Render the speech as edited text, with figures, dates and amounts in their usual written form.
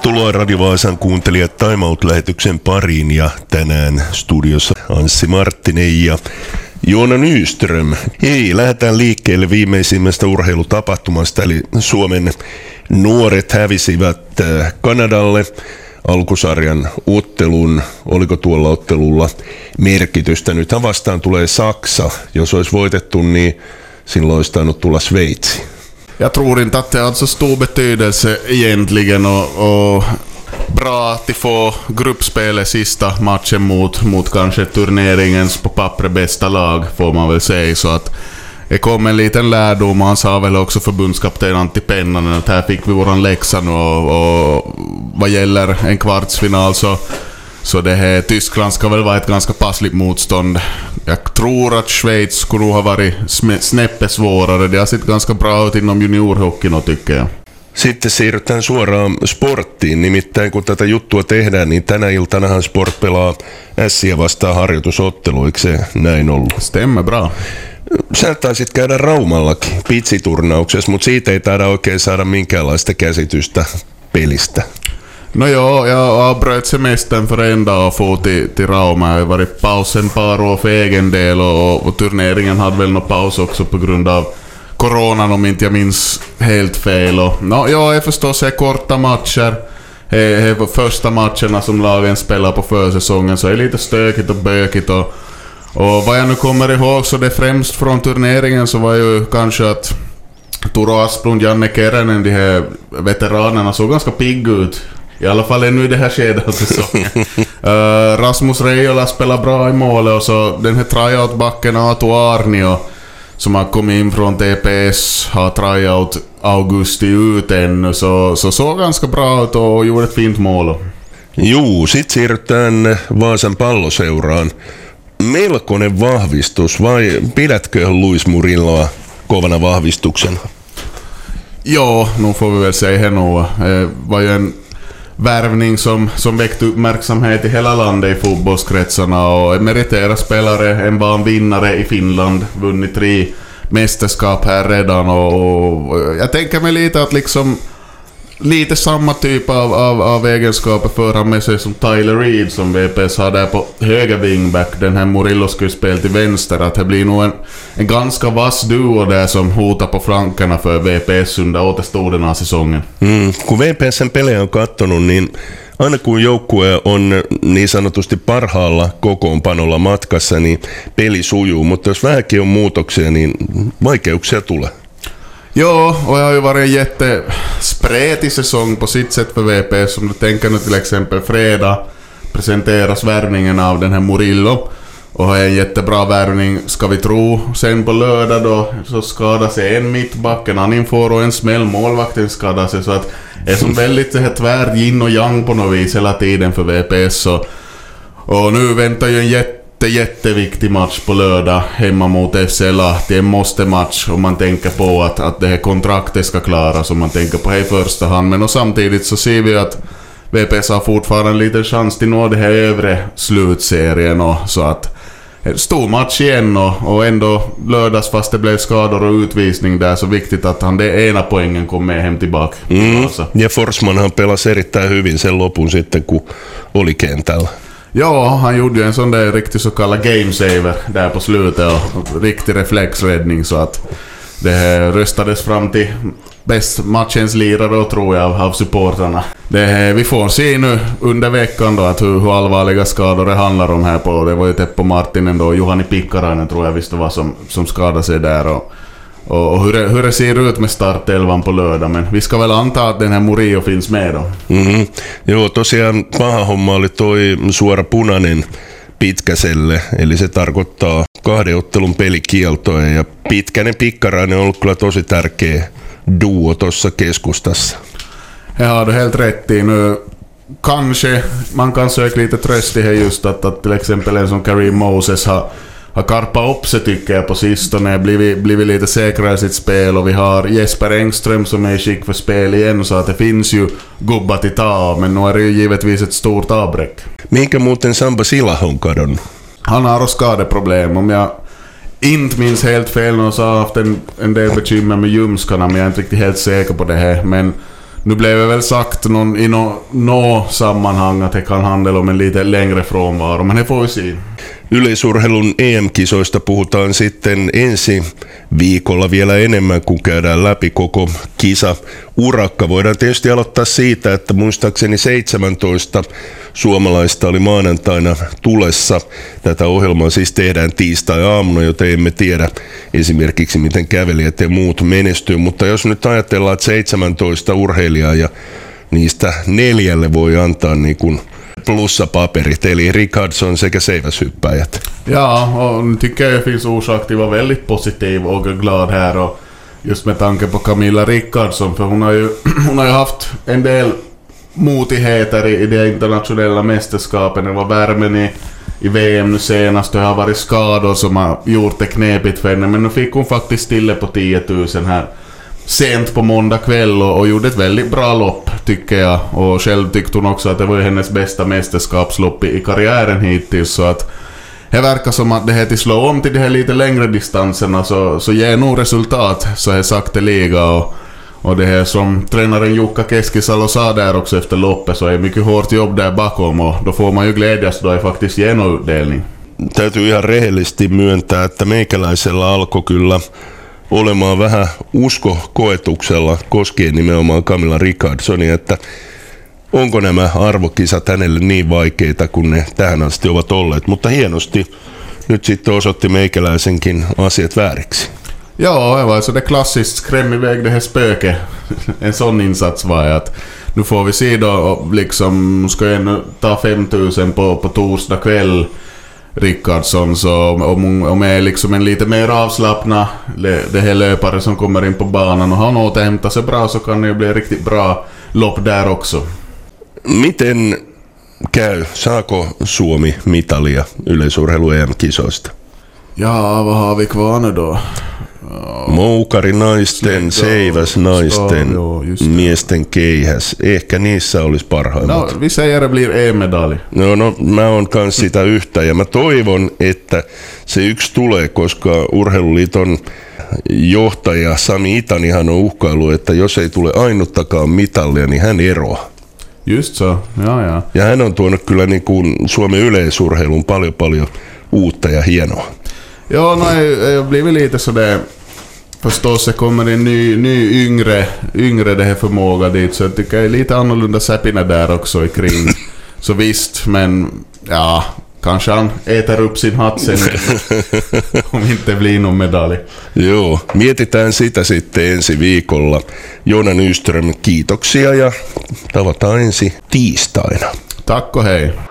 Tervetuloa Radio Vaasan kuuntelijat Time Out-lähetyksen pariin ja tänään studiossa Anssi Marttinen ja Joona Nyström. Hei, lähdetään liikkeelle viimeisimmästä urheilutapahtumasta, eli Suomen nuoret hävisivät Kanadalle alkusarjan ottelun. Oliko tuolla ottelulla merkitystä? Nythän vastaan tulee Saksa. Jos olisi voitettu, niin silloin olisi tainnut tulla Sveitsi. Jag tror inte att det har så stor betydelse egentligen och bra att de får gruppspelet sista matchen mot kanske turneringens på pappret bästa lag får man väl säga, så att det kom en liten lärdom. Han sa väl också förbundskapten Antti Pennanen att här fick vi våran läxa nu och vad gäller en kvartsfinal så det här Tyskland ska väl vara ett ganska passligt motstånd. Jag tror att Schweiz skulle ha varit snäppet svårare. Det har sett ganska bra ut inom juniorhockeyn, tycker jag. Sitten siirrytään suoraan sporttiin. Nimittäin kun tätä juttua tehdään, niin tänä iltanahan Sport pelaa Ässiä vastaan harjoitusottelu. Eikö se näin ollut? Stämmer bra. Sä taisit käydä Raumallakin pitsiturnauksessa, mutta siitä ei taida oikein saada minkäänlaista käsitystä pelistä. No ja, jag avbröt semestern för en dag och for till Rauma. Jag har varit paus en par år för egen del och turneringen hade väl någon paus också på grund av coronan, om inte jag minns helt fel. Och, jag förstås är korta matcher. Det var första matcherna som lagen spelar på försäsongen, så är det lite stökigt och bökigt. Och vad jag nu kommer ihåg, så det främst från turneringen så var ju kanske att Turo Asplund, Janne Keränen, de här veteranerna såg ganska pigg ut. I alla fall ännu i det här skedet av säsongen. Rasmus Reijola spelar bra i målet, och så den här tryout-backen Aatu Arnio som har kommit in från TPS har tryout augusti ut ännu, så såg ganska bra ut och gjorde ett fint mål. Juu, sit siirrytään Vaasan Palloseuraan. Melkoinen vahvistus, vai pidätkö Luis Murilloa kovana vahvistuksena? Ja, nu får vi väl säga här nu. Var ju en värvning som väckte uppmärksamhet i hela landet i fotbollskretsarna, och en meriterad spelare, en banvinnare i Finland, vunnit 3 mästerskap här redan, och jag tänker mig lite att liksom lite samma typ av egenskaper för han med sig som Tyler Reed som VPS har där på höger wingback. Den här Murillo skulle spela till vänster, att det blir nog en ganska vass duo där som hotar på flankerna för VPS under återstoden av säsongen. Kun VPSn pelejä on katsonut, niin aina kun joukkue on niin sanotusti parhaalla kokoonpanolla matkassa, niin peli sujuu, mutta jos vähänkin on muutoksia, niin vaikeuksia tulee. Ja, och jag har ju varit en jättespretig säsong på sitt sätt för VPS. Om du tänker nu till exempel fredag presenteras värvningen av den här Murillo, och är en jättebra värvning ska vi tro. Sen på lördag då så skadar sig en mittback, en annan får och en smäll målvakten skadar sig, så att det är som väldigt så här tvär yin och yang på något vis hela tiden för VPS. Och nu väntar ju en jätteviktig match på lördag hemma mot FC Lahti. En måste-match om man tänker på att det här kontraktet ska klaras, om man tänker på det i första hand. Men och samtidigt så ser vi att VPS har fortfarande en liten chans till nå det här övre slutserien, och så att stor match igen, och ändå lördags, fast det blev skador och utvisning där, så viktigt att han det ena poängen kom med hem tillbaka. Ja Forsmanhan pelasi erittäin hyvin sen lopun sitten, kun oli kentällä. Ja, han gjorde ju en sån där riktig så kallad game saver där på slutet, och riktig reflexräddning, så att det röstades fram till bäst matchens lirare då, tror jag, av supportrarna. Vi får se nu under veckan då att hur allvarliga skador det handlar om här på. Det var ju Teppo Marttinen då, Juhani Pikkarainen tror jag visst var som skadade sig där, och hur det ser ut med startelvan på lördag, men vi ska väl anta att den här Murillo finns med då. Joo, tosiaan paha homma oli toi suora punainen Pitkäselle, eli se tarkoittaa 2 ottelun pelikieltoja, ja Pitkänen Pikkarainen on ollut kyllä tosi tärkeä duo tuossa keskustassa. Ja, du helt rätt i nu. Kanske man kan söka lite tröst i det just att till exempel en som Kareem Moses har karpat upp sig, tycker jag, på sistone, blivit lite säkrare i sitt spel, och vi har Jesper Engström som är i skick för spel igen, så att det finns ju gubbar till ta, men nu är det ju givetvis ett stort avbräck. Minkä muuten Samba Silah on kadonnut? Han har skadeproblem, om jag inte minns helt fel, och så har haft en del bekymmer med ljumskarna, men jag är inte riktigt helt säker på det här, men Nu blev det väl sagt i nå sammanhang att det kan handla om en lite längre frånvaro, men det får vi se. Yleisurheilun EM-kisoista puhutaan sitten ensi viikolla vielä enemmän, kun käydään läpi koko kisa urakka. Voidaan tietysti aloittaa siitä, että muistaakseni 17 suomalaista oli maanantaina tulessa. Tätä ohjelmaa siis tehdään tiistai-aamuna, joten emme tiedä esimerkiksi miten kävelijät ja muut menestyy. Mutta jos nyt ajatellaan, että 17 urheilijaa ja niistä 4 voi antaa niin kuin plussapaperit, eli Rickardsson sekä seiväshyppäjät. Ja, och nu tycker jag det finns orsak till att vara väldigt positiv och glad här, och just med tanke på Camilla Rickardsson, för hon har ju haft en del motigheter i de internationella mästerskapen. Det var värmen i VM nu senast, det har varit skador som har gjort det knepigt för henne, men nu fick hon faktiskt till på 10 000 här sent på måndag kväll och gjorde ett väldigt bra lopp, tycker jag. Och själv tyckte hon också att det var hennes bästa mästerskapslopp i karriären hittills, så att det verkar som att det här till slå om till de här lite längre distanserna så ger nog resultat så här sakteliga, och det här som tränaren Jukka Keskisalo sa där också efter loppet, så är mycket hårt jobb där bakom, och då får man ju glädjas då är faktiskt genoutdelning. Täytyy ihan rehellisesti myöntää, että meikäläisellä alkoi kyllä olemaan vähän uskokoetuksella koskien nimenomaan Camilla Rickardsonia, että onko nämä arvokisat hänelle niin vaikeita kuin ne tähän asti ovat olleet, mutta hienosti nyt sitten osoitti meikäläisenkin asiat vääriksi. Ja, det var så det klassiskt skräm iväg det här spöket. En sån insats var att nu får vi se då, liksom ska jag ta 5 000 på torsdag kväll, Rickardsson, så om är liksom en lite mer avslappnad det här löpare som kommer in på banan och han återhämtar sig bra, så kan det ju bli riktigt bra lopp där också. Miten käy? Saako Suomi mitalia yleisurheilu EM-kisoista? Ja, vad har vi kvar nu då? Moukari naisten, seiväs naisten, miesten keihäs. Ehkä niissä olisi parhaimmat. No, vi säger det blir EM-medalj. No, mä oon kans sitä yhtä ja mä toivon, että se yksi tulee, koska Urheiluliiton johtaja Sami Itanihan on uhkailu, että jos ei tule ainuttakaan mitallia, niin hän eroaa. Just så, ja. Ja hän on tuonut kyllä niin kuin Suomen yleisurheilun paljon uutta ja hienoa. Ja, nej, jag blir väl lite så där. Förstås så kommer en ny yngre det här förmåga dit, så jag tycker det är lite annorlunda säpina där också i kring. Så visst, men ja, kanske han äter upp sin hatt sen om inte blir någon medalj. Joo, mietitään sitä sitten ensi viikolla. Joona Nyström, kiitoksia ja tavataan ensi tiistaina. Tack och hej.